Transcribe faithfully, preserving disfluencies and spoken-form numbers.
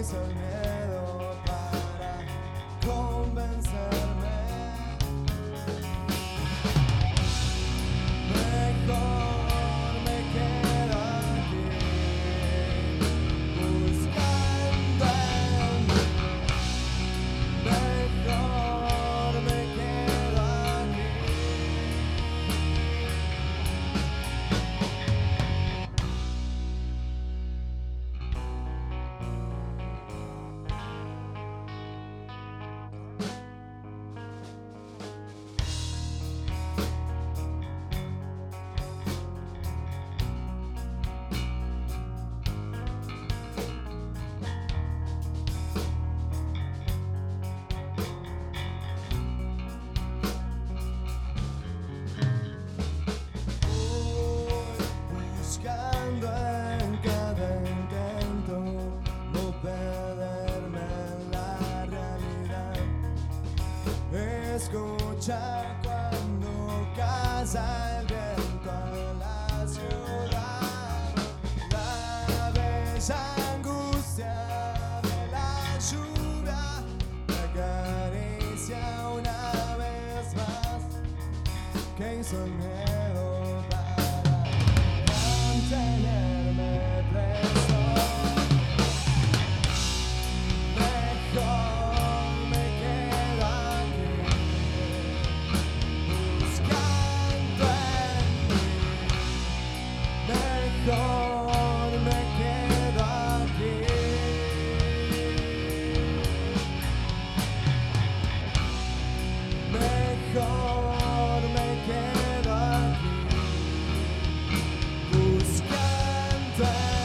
hizo el miedo para convencerme? Mejor me quedo aquí, buscando en mí. Mejor me quedo aquí. Buscando en cada intento no perderme en la realidad. Escucha cuando caza el viento en la ciudad. La bella angustia de la lluvia me acaricia una vez más. Que hizo el miedo tenerme preso. Mejor me quedo aquí, buscando en mí. Mejor me quedo aquí. Mejor me quedo aquí. Buscando